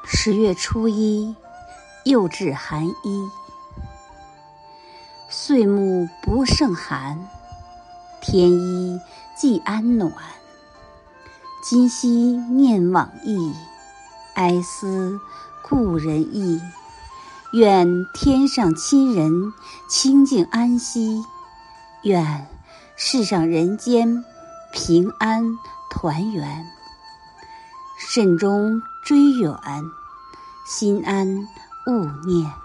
10月初一，又至寒衣。岁暮不胜寒，添衣寄安暖。今夕念往忆，哀思故人意。愿天上亲人清静安息，愿世上人间平安团圆。慎终追远，心安勿念。